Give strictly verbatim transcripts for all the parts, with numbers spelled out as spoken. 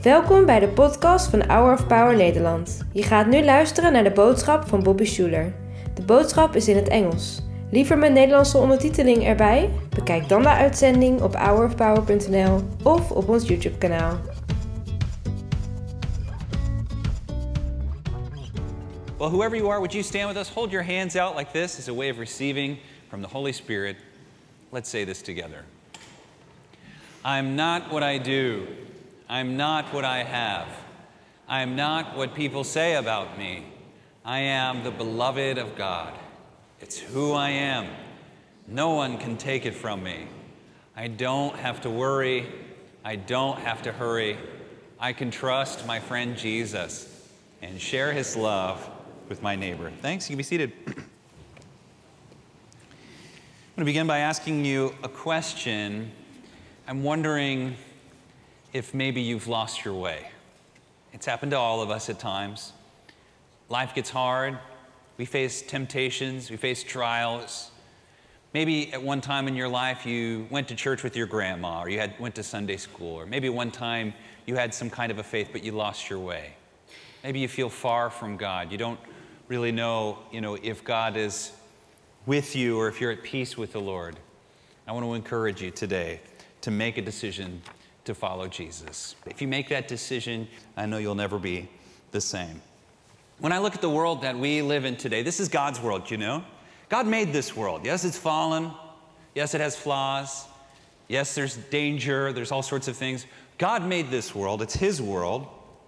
Welkom bij de podcast van Hour of Power Nederland. Je gaat nu luisteren naar de boodschap van Bobby Schuler. De boodschap is in het Engels. Liever met Nederlandse ondertiteling erbij? Bekijk dan de uitzending op hour of power punt n l of op ons YouTube kanaal. Well, whoever you are, would you stand with us? Hold your hands out like this as a way of receiving from the Holy Spirit. Let's say this together. I'm not what I do. I'm not what I have. I'm not what people say about me. I am the beloved of God. It's who I am. No one can take it from me. I don't have to worry. I don't have to hurry. I can trust my friend Jesus and share his love with my neighbor. Thanks. You can be seated. I'm going to begin by asking you a question. I'm wondering if maybe you've lost your way. It's happened to all of us at times. Life gets hard. We face temptations. We face trials. Maybe at one time in your life you went to church with your grandma, or you had went to Sunday school, or maybe one time you had some kind of a faith, but you lost your way. Maybe you feel far from God. You don't really know, you know, if God is with you or if you're at peace with the Lord. I want to encourage you today to make a decision to follow Jesus. If you make that decision, I know you'll never be the same. When I look at the world that we live in today, this is God's world, you know? God made this world. Yes, it's fallen. Yes, it has flaws. Yes, there's danger. There's all sorts of things. God made this world. It's his world.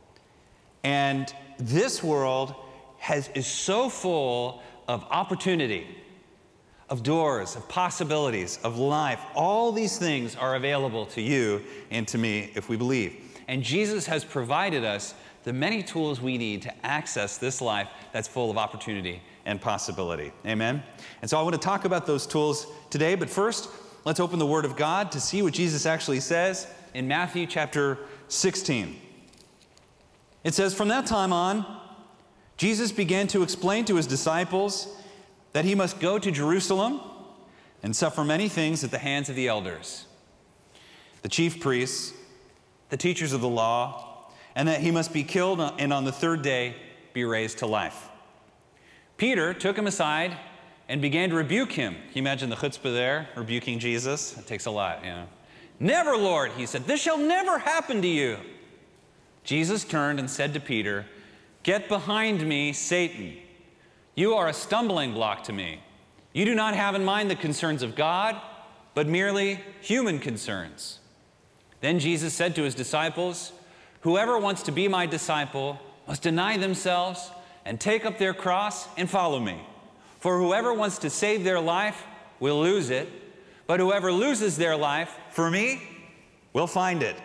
And this world has, is so full of opportunity, of doors, of possibilities, of life. All these things are available to you and to me if we believe. And Jesus has provided us the many tools we need to access this life that's full of opportunity and possibility. Amen? And so I want to talk about those tools today, but first, let's open the Word of God to see what Jesus actually says in Matthew chapter sixteen. It says, "From that time on, Jesus began to explain to his disciples that he must go to Jerusalem and suffer many things at the hands of the elders, the chief priests, the teachers of the law, and that he must be killed and on the third day be raised to life." Peter took him aside and began to rebuke him. Can you imagine the chutzpah there, rebuking Jesus? It takes a lot, you know. "Never, Lord," he said, "this shall never happen to you." Jesus turned and said to Peter, "Get behind me, Satan. You are a stumbling block to me. You do not have in mind the concerns of God, but merely human concerns." Then Jesus said to his disciples, "Whoever wants to be my disciple must deny themselves and take up their cross and follow me. For whoever wants to save their life will lose it, but whoever loses their life for me will find it."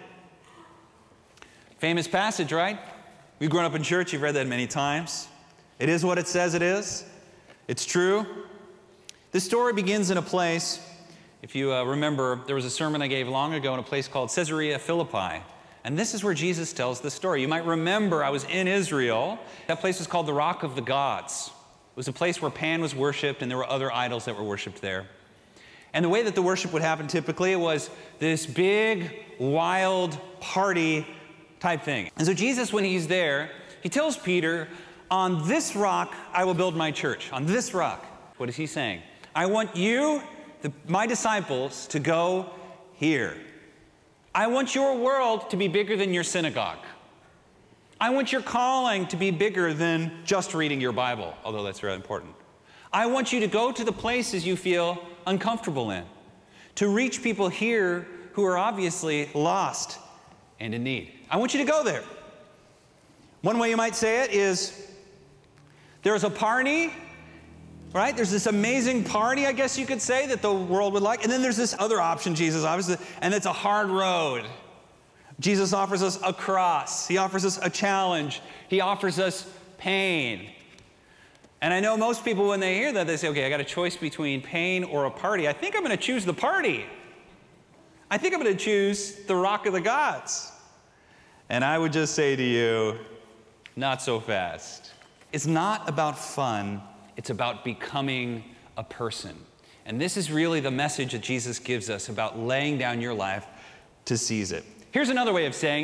Famous passage, right? We've grown up in church. You've read that many times. It is what it says it is. It's true. This story begins in a place, if you uh, remember, there was a sermon I gave long ago in a place called Caesarea Philippi. And this is where Jesus tells the story. You might remember I was in Israel. That place was called the Rock of the Gods. It was a place where Pan was worshipped and there were other idols that were worshipped there. And the way that the worship would happen typically was this big, wild party type thing. And so Jesus, when he's there, he tells Peter, "On this rock I will build my church." On this rock. What is he saying? I want you, the, my disciples, to go here. I want your world to be bigger than your synagogue. I want your calling to be bigger than just reading your Bible, although that's really important. I want you to go to the places you feel uncomfortable in, to reach people here who are obviously lost and in need. I want you to go there. One way you might say it is, there's a party, right? There's this amazing party, I guess you could say, that the world would like. And then there's this other option, Jesus, obviously, and it's a hard road. Jesus offers us a cross. He offers us a challenge. He offers us pain. And I know most people, when they hear that, they say, okay, I got a choice between pain or a party. I think I'm going to choose the party. I think I'm going to choose the Rock of the Gods. And I would just say to you, not so fast. It's not about fun. It's about becoming a person. And this is really the message that Jesus gives us about laying down your life to seize it. Here's another way of saying it.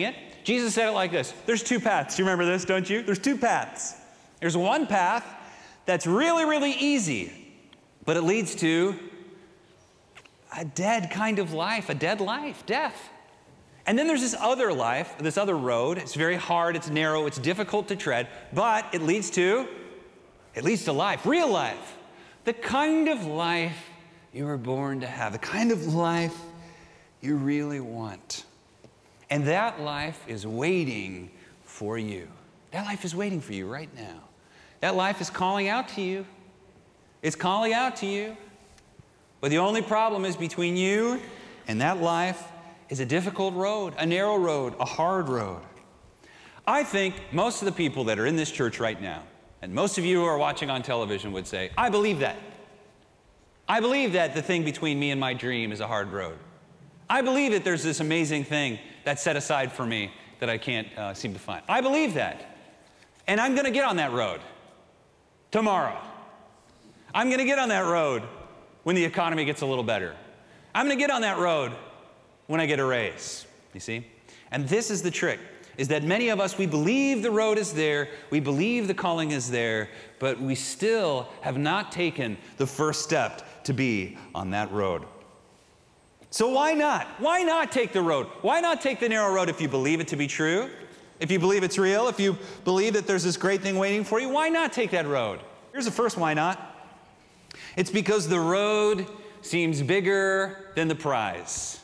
Jesus said it like this. There's two paths. You remember this, don't you? There's two paths. There's one path that's really, really easy, but it leads to a dead kind of life, a dead life, death. And then there's this other life, this other road. It's very hard, it's narrow, it's difficult to tread, but it leads to, it leads to life, real life. The kind of life you were born to have, the kind of life you really want. And that life is waiting for you. That life is waiting for you right now. That life is calling out to you. It's calling out to you. But the only problem is between you and that life is a difficult road, a narrow road, a hard road. I think most of the people that are in this church right now, and most of you who are watching on television would say, I believe that. I believe that the thing between me and my dream is a hard road. I believe that there's this amazing thing that's set aside for me that I can't uh, seem to find. I believe that. And I'm going to get on that road tomorrow. I'm going to get on that road when the economy gets a little better. I'm going to get on that road when I get a raise, you see? And this is the trick, is that many of us, we believe the road is there, we believe the calling is there, but we still have not taken the first step to be on that road. So why not? Why not take the road? Why not take the narrow road if you believe it to be true? If you believe it's real, if you believe that there's this great thing waiting for you, why not take that road? Here's the first why not. It's because the road seems bigger than the prize.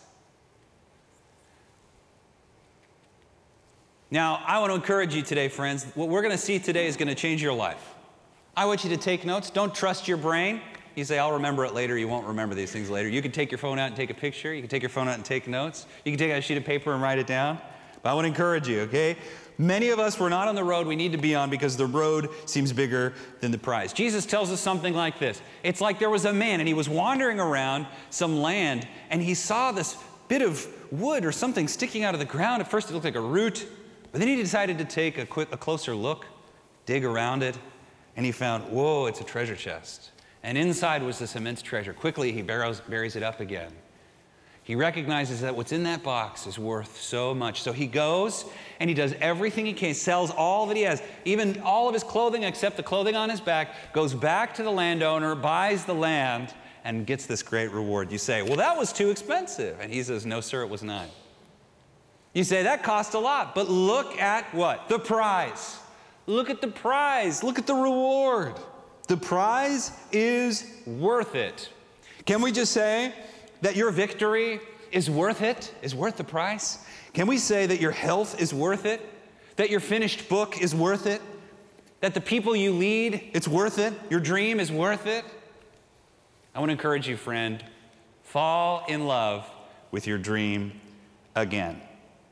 Now, I want to encourage you today, friends. What we're going to see today is going to change your life. I want you to take notes. Don't trust your brain. You say, I'll remember it later. You won't remember these things later. You can take your phone out and take a picture. You can take your phone out and take notes. You can take out a sheet of paper and write it down. But I want to encourage you, okay? Many of us, we're not on the road we need to be on because the road seems bigger than the prize. Jesus tells us something like this. It's like there was a man, and he was wandering around some land, and he saw this bit of wood or something sticking out of the ground. At first, it looked like a root. But then he decided to take a, quick, a closer look, dig around it, and he found, whoa, it's a treasure chest. And inside was this immense treasure. Quickly, he buries, buries it up again. He recognizes that what's in that box is worth so much. So he goes and he does everything he can, sells all that he has, even all of his clothing except the clothing on his back, goes back to the landowner, buys the land, and gets this great reward. You say, well, that was too expensive. And he says, no, sir, it was not. You say, that cost a lot, but look at what? The prize. Look at the prize. Look at the reward. The prize is worth it. Can we just say that your victory is worth it, is worth the price? Can we say that your health is worth it? That your finished book is worth it? That the people you lead, it's worth it? Your dream is worth it? I want to encourage you, friend, fall in love with your dream again.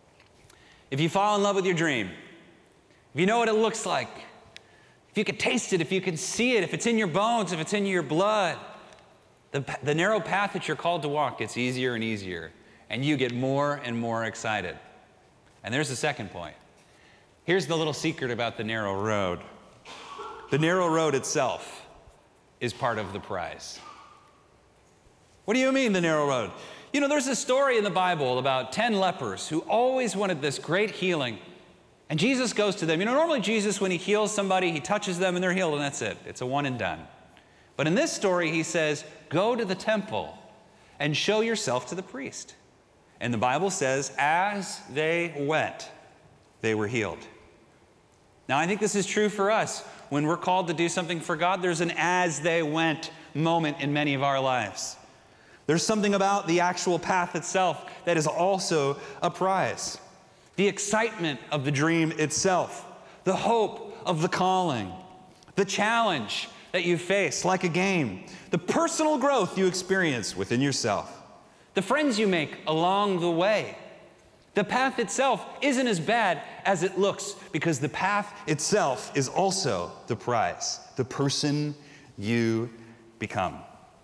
If you fall in love with your dream, if you know what it looks like, if you can taste it, if you can see it, if it's in your bones, if it's in your blood, the, the narrow path that you're called to walk gets easier and easier, and you get more and more excited. And there's the second point. Here's the little secret about the narrow road. The narrow road itself is part of the prize. What do you mean, the narrow road? You know, there's a story in the Bible about ten lepers who always wanted this great healing. And Jesus goes to them. You know, normally Jesus, when he heals somebody, he touches them and they're healed, and that's it. It's a one and done. But in this story, he says, go to the temple and show yourself to the priest. And the Bible says, as they went, they were healed. Now, I think this is true for us. When we're called to do something for God, there's an as they went moment in many of our lives. There's something about the actual path itself that is also a prize. The excitement of the dream itself, the hope of the calling, the challenge that you face like a game, the personal growth you experience within yourself, the friends you make along the way. The path itself isn't as bad as it looks because the path itself is also the prize, the person you become.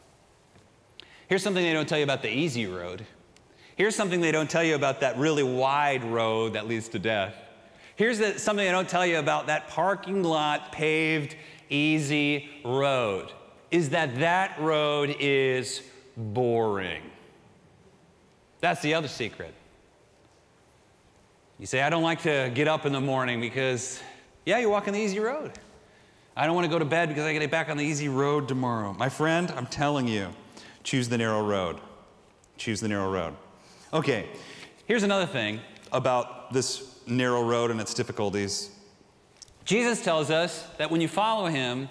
Here's something they don't tell you about the easy road. Here's something they don't tell you about that really wide road that leads to death. Here's the, something they don't tell you about that parking lot paved easy road, is that that road is boring. That's the other secret. You say, I don't like to get up in the morning because, yeah, you're walking the easy road. I don't want to go to bed because I get back on the easy road tomorrow. My friend, I'm telling you, choose the narrow road. Choose the narrow road. Okay, here's another thing about this narrow road and its difficulties. Jesus tells us that when you follow him,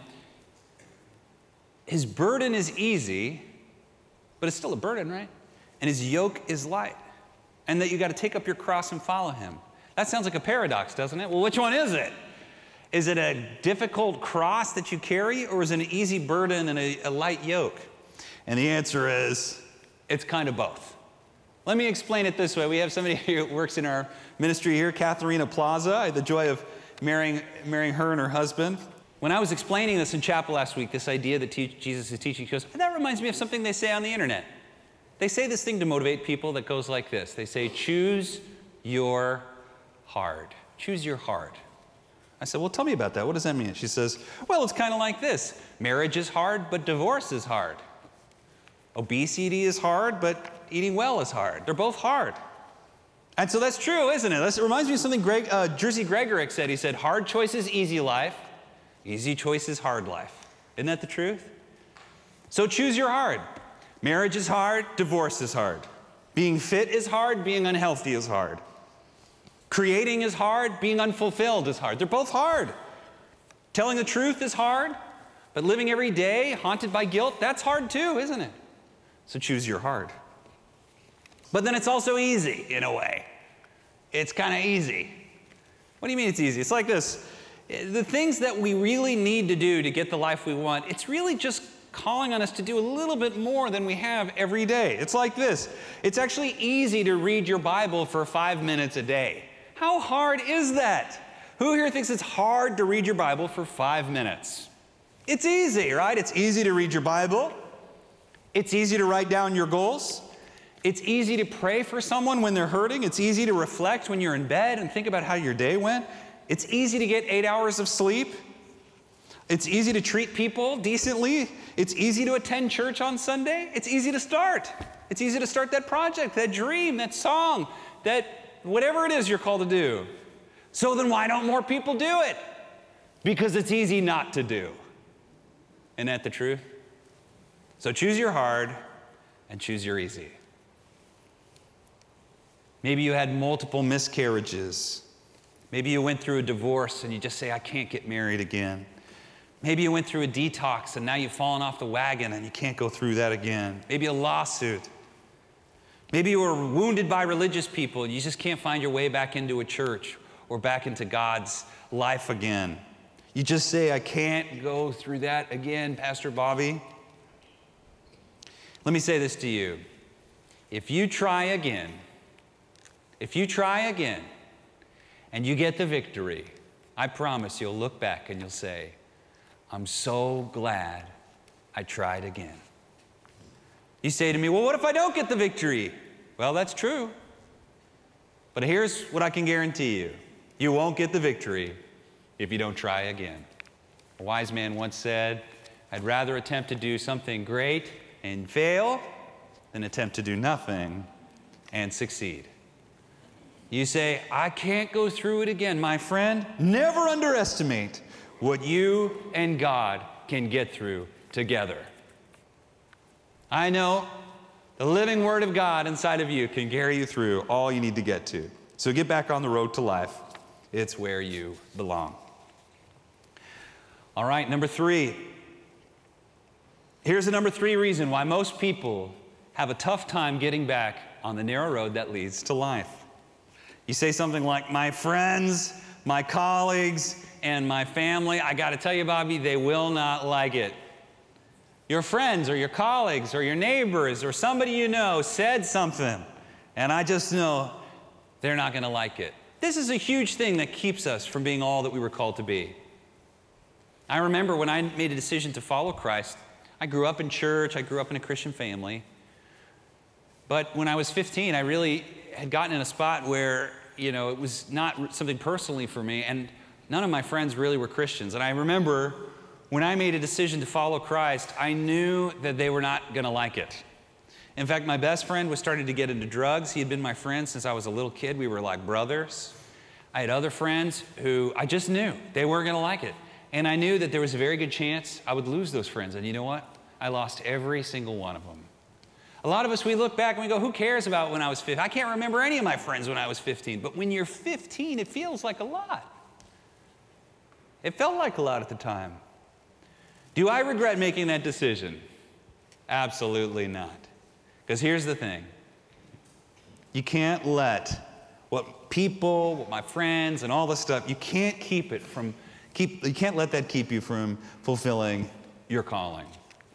his burden is easy, but it's still a burden, right? And his yoke is light. And that you got to take up your cross and follow him. That sounds like a paradox, doesn't it? Well, which one is it? Is it a difficult cross that you carry, or is it an easy burden and a, a light yoke? And the answer is, it's kind of both. Let me explain it this way. We have somebody who works in our ministry here, Katharina Plaza. I had the joy of marrying, marrying her and her husband. When I was explaining this in chapel last week, this idea that te- Jesus is teaching, she goes, that reminds me of something they say on the internet. They say this thing to motivate people that goes like this. They say, choose your hard. Choose your hard. I said, well, tell me about that. What does that mean? She says, well, it's kind of like this. Marriage is hard, but divorce is hard. Obesity is hard, but eating well is hard. They're both hard. And so that's true, isn't it? That's, it reminds me of something Greg, uh, Jerzy Gregorek said. He said, hard choices, easy life. Easy choices, hard life. Isn't that the truth? So choose your hard. Marriage is hard, divorce is hard. Being fit is hard, being unhealthy is hard. Creating is hard, being unfulfilled is hard. They're both hard. Telling the truth is hard, but living every day haunted by guilt, that's hard too, isn't it? So choose your hard. But then it's also easy in a way. It's kind of easy. What do you mean it's easy? It's like this. The things that we really need to do to get the life we want, it's really just calling on us to do a little bit more than we have every day. It's like this. It's actually easy to read your Bible for five minutes a day. How hard is that? Who here thinks it's hard to read your Bible for five minutes? It's easy, right? It's easy to read your Bible. It's easy to write down your goals. It's easy to pray for someone when they're hurting. It's easy to reflect when you're in bed and think about how your day went. It's easy to get eight hours of sleep. It's easy to treat people decently. It's easy to attend church on Sunday. It's easy to start. It's easy to start that project, that dream, that song, that whatever it is you're called to do. So then why don't more people do it? Because it's easy not to do. Isn't that the truth? So choose your hard and choose your easy. Maybe you had multiple miscarriages. Maybe you went through a divorce and you just say, I can't get married again. Maybe you went through a detox and now you've fallen off the wagon and you can't go through that again. Maybe a lawsuit. Maybe you were wounded by religious people and you just can't find your way back into a church or back into God's life again. You just say, I can't go through that again, Pastor Bobby. Let me say this to you. If you try again, if you try again and you get the victory, I promise you'll look back and you'll say, I'm so glad I tried again. You say to me, well, what if I don't get the victory? Well, that's true. But here's what I can guarantee you. You won't get the victory if you don't try again. A wise man once said, I'd rather attempt to do something great and fail than attempt to do nothing and succeed. You say, I can't go through it again. My friend, never underestimate what you and God can get through together. I know the living Word of God inside of you can carry you through all you need to get to. So get back on the road to life. It's where you belong. All right, number three. Here's the number three reason why most people have a tough time getting back on the narrow road that leads to life. You say something like, my friends, my colleagues, and my family, I got to tell you, Bobby, they will not like it. Your friends or your colleagues or your neighbors or somebody you know said something, and I just know they're not going to like it. This is a huge thing that keeps us from being all that we were called to be. I remember when I made a decision to follow Christ, I grew up in church, I grew up in a Christian family, but when I was fifteen, I really had gotten in a spot where, you know, it was not something personally for me, and none of my friends really were Christians. And I remember when I made a decision to follow Christ, I knew that they were not going to like it. In fact, my best friend was starting to get into drugs. He had been my friend since I was a little kid. We were like brothers. I had other friends who I just knew they weren't going to like it. And I knew that there was a very good chance I would lose those friends. And you know what? I lost every single one of them. A lot of us, we look back and we go, who cares about when I was fifteen? I can't remember any of my friends when I was fifteen. But when you're fifteen, it feels like a lot. It felt like a lot at the time. Do I regret making that decision? Absolutely not. Because here's the thing. You can't let what people, what my friends, and all this stuff, you can't keep it from, keep, you can't let that keep you from fulfilling your calling.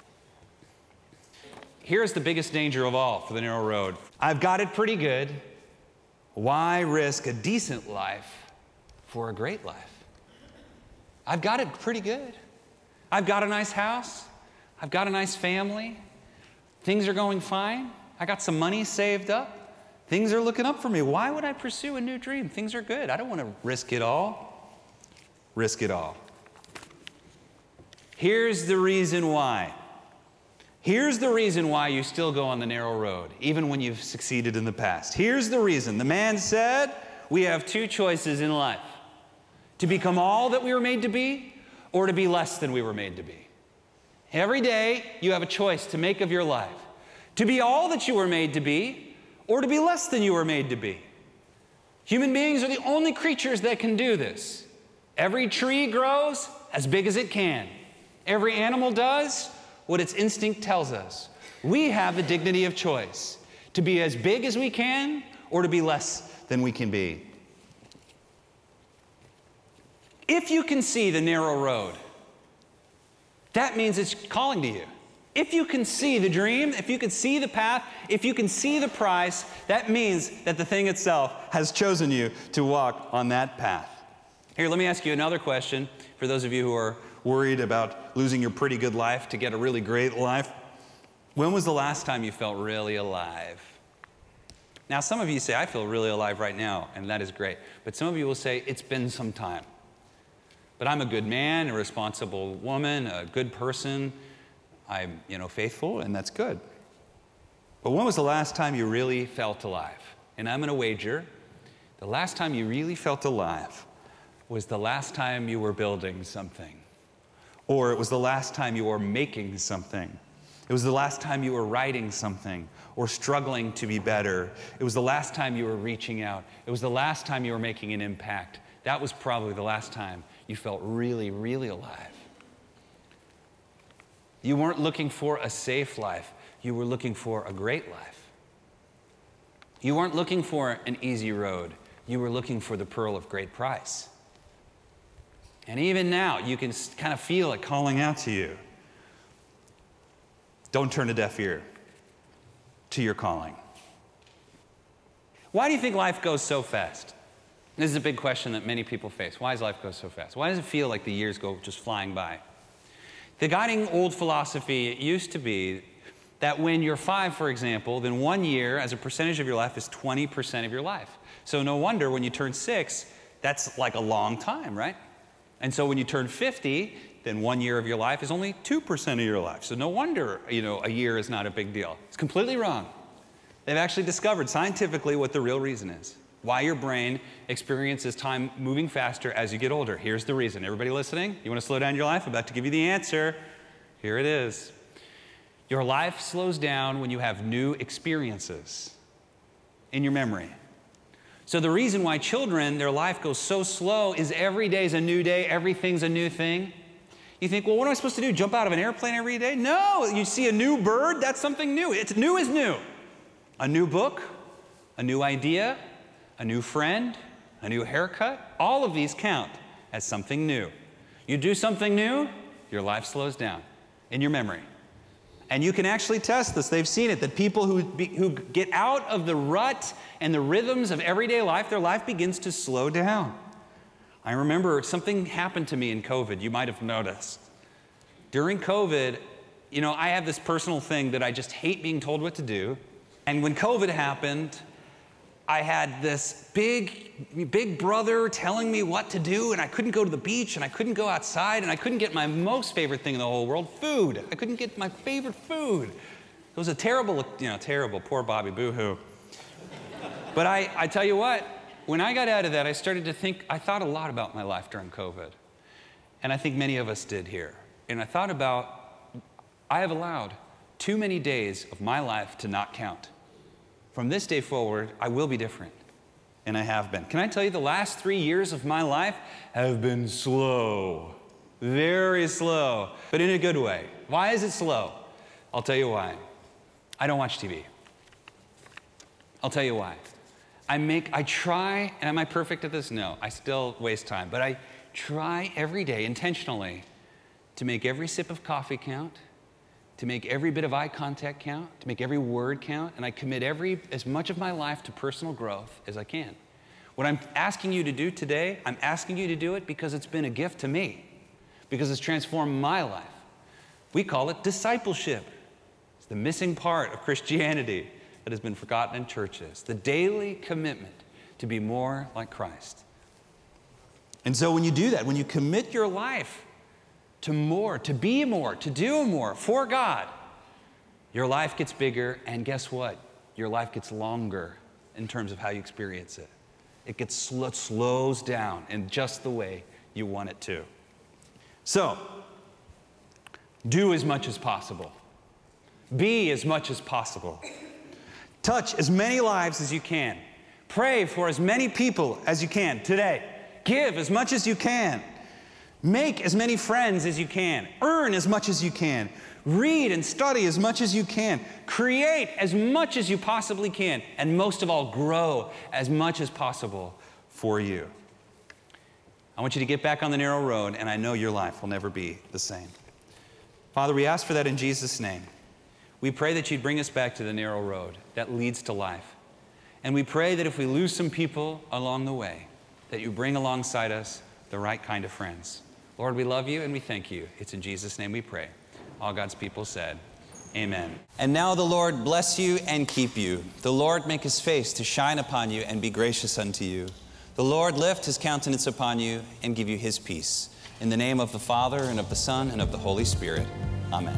Here's the biggest danger of all for the narrow road. I've got it pretty good. Why risk a decent life for a great life? I've got it pretty good. I've got a nice house. I've got a nice family. Things are going fine. I got some money saved up. Things are looking up for me. Why would I pursue a new dream? Things are good. I don't want to risk it all. Risk it all. Here's the reason why. Here's the reason why you still go on the narrow road, even when you've succeeded in the past. Here's the reason. The man said, we have two choices in life. To become all that we were made to be, or to be less than we were made to be. Every day, you have a choice to make of your life. To be all that you were made to be, or to be less than you were made to be. Human beings are the only creatures that can do this. Every tree grows as big as it can. Every animal does what its instinct tells us. We have the dignity of choice, to be as big as we can, or to be less than we can be. If you can see the narrow road, that means it's calling to you. If you can see the dream, if you can see the path, if you can see the price, that means that the thing itself has chosen you to walk on that path. Here, let me ask you another question for those of you who are worried about losing your pretty good life to get a really great life. When was the last time you felt really alive? Now, some of you say, I feel really alive right now, and that is great. But some of you will say, it's been some time. But I'm a good man, a responsible woman, a good person. I'm, you know, faithful, and that's good. But when was the last time you really felt alive? And I'm going to wager, the last time you really felt alive was the last time you were building something. Or it was the last time you were making something. It was the last time you were writing something or struggling to be better. It was the last time you were reaching out. It was the last time you were making an impact. That was probably the last time you felt really, really alive. You weren't looking for a safe life. You were looking for a great life. You weren't looking for an easy road. You were looking for the pearl of great price. And even now, you can kind of feel it calling out to you. Don't turn a deaf ear to your calling. Why do you think life goes so fast? This is a big question that many people face. Why does life go so fast? Why does it feel like the years go just flying by? The guiding old philosophy used to be that when you're five, for example, then one year as a percentage of your life is twenty percent of your life. So no wonder when you turn six, that's like a long time, right? And so when you turn fifty, then one year of your life is only two percent of your life. So no wonder, you know, a year is not a big deal. It's completely wrong. They've actually discovered scientifically what the real reason is. Why your brain experiences time moving faster as you get older. Here's the reason. Everybody listening? You want to slow down your life? I'm about to give you the answer. Here it is. Your life slows down when you have new experiences in your memory. So the reason why children, their life goes so slow is every day is a new day, everything's a new thing. You think, well, what am I supposed to do? Jump out of an airplane every day? No, you see a new bird, that's something new. It's new is new. A new book, a new idea, a new friend, a new haircut, all of these count as something new. You do something new, your life slows down in your memory. And you can actually test this. They've seen it, that people who, be, who get out of the rut and the rhythms of everyday life, their life begins to slow down. I remember something happened to me in COVID. You might have noticed. During COVID, you know, I have this personal thing that I just hate being told what to do. And when COVID happened, I had this big, big brother telling me what to do, and I couldn't go to the beach, and I couldn't go outside, and I couldn't get my most favorite thing in the whole world, food. I couldn't get my favorite food. was a terrible, you know, terrible, poor Bobby, boo-hoo. But I, I tell you what, when I got out of that, I started to think, I thought a lot about my life during COVID. And I think many of us did here. And I thought about, I have allowed too many days of my life to not count. From this day forward, I will be different. And I have been. Can I tell you, the last three years of my life have been slow. Very slow, but in a good way. Why is it slow? I'll tell you why. I don't watch T V. I'll tell you why. I make, I try, and am I perfect at this? No, I still waste time. But I try every day intentionally to make every sip of coffee count, to make every bit of eye contact count, to make every word count, and I commit every, as much of my life to personal growth as I can. What I'm asking you to do today, I'm asking you to do it because it's been a gift to me, because it's transformed my life. We call it discipleship. It's the missing part of Christianity that has been forgotten in churches, the daily commitment to be more like Christ. And so when you do that, when you commit your life to more, to be more, to do more for God, your life gets bigger, and guess what? Your life gets longer in terms of how you experience it. It gets sl- it slows down in just the way you want it to. So, do as much as possible. Be as much as possible. Touch as many lives as you can. Pray for as many people as you can today. Give as much as you can. Make as many friends as you can. Earn as much as you can. Read and study as much as you can. Create as much as you possibly can. And most of all, grow as much as possible for you. I want you to get back on the narrow road, and I know your life will never be the same. Father, we ask for that in Jesus' name. We pray that you'd bring us back to the narrow road that leads to life. And we pray that if we lose some people along the way, that you bring alongside us the right kind of friends. Lord, we love you and we thank you. It's in Jesus' name we pray. All God's people said, amen. And now the Lord bless you and keep you. The Lord make his face to shine upon you and be gracious unto you. The Lord lift his countenance upon you and give you his peace. In the name of the Father, and of the Son, and of the Holy Spirit. Amen.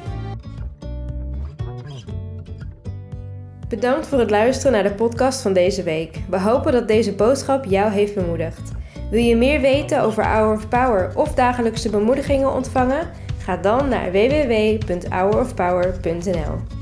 Bedankt voor het luisteren naar de podcast van deze week. We hopen dat deze boodschap jou heeft bemoedigd. Wil je meer weten over Hour of Power of dagelijkse bemoedigingen ontvangen? Ga dan naar w w w punt hour of power punt n l.